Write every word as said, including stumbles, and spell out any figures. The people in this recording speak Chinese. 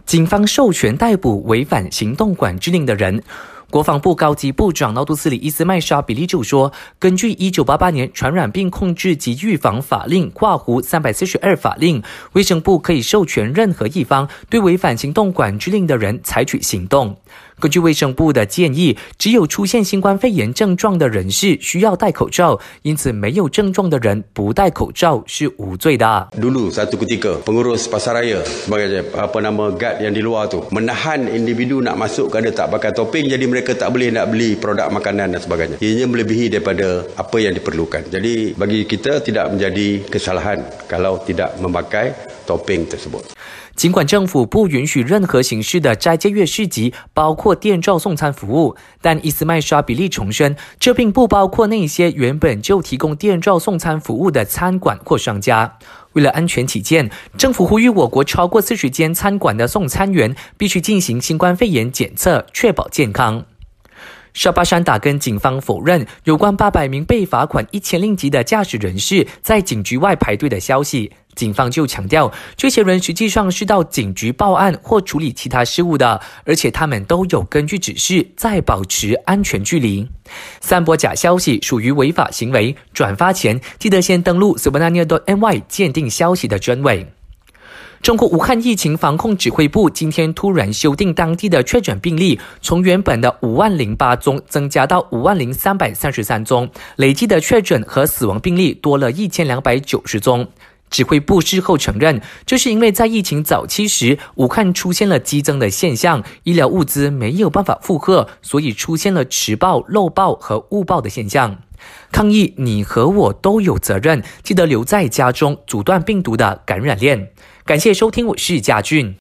警方授权逮捕违反行动管制令的人。国防部高级部长纳杜斯里伊斯麦沙比利就说，根据一九八八年传染病控制及预防法令（括弧三百四十二法令），卫生部可以授权任何一方对违反行动管制令的人采取行动。根据卫生部的建议，只有出现新冠肺炎症状的人士需要戴口罩，因此没有症状的人不戴口罩是无罪的。 Dulu satu ketika pengurus pasaraya sebagai apa nama guard yang di luar tu menahan individu nak masuk kerana tak pakai topeng, jadi mereka tak boleh nak beli produk makanan dan sebagainya. Ianya melebihi daripada apa yang diperlukan. Jadi bagi kita tidak menjadi kesalahan kalau tidak memakai topeng tersebut. 尽管政府不允许任何形式的斋戒月市集，包括电召送餐服务，但伊斯麦沙比利重申，这并不包括那些原本就提供电召送餐服务的餐馆或商家。为了安全起见，政府呼吁我国超过四十间餐馆的送餐员必须进行新冠肺炎检测，确保健康。 沙巴山打根警方否认有关八百名被罚款一千令吉的驾驶人士在警局外排队的消息。警方就强调，这些人实际上是到警局报案或处理其他事务的，而且他们都有根据指示在保持安全距离。散播假消息属于违法行为，转发前记得先登录 sebenarnya dot m y 鉴定消息的真伪。 中国武汉疫情防控指挥部今天突然修订当地的确诊病例，从原本的五万零八宗增加到五万零三百三十三宗，累计的确诊和死亡病例多了一千两百九十宗。指挥部事后承认，这是因为在疫情早期时，武汉出现了激增的现象，医疗物资没有办法负荷，所以出现了迟报、漏报和误报的现象。抗疫，你和我都有责任，记得留在家中，阻断病毒的感染链。感谢收听，我是嘉俊。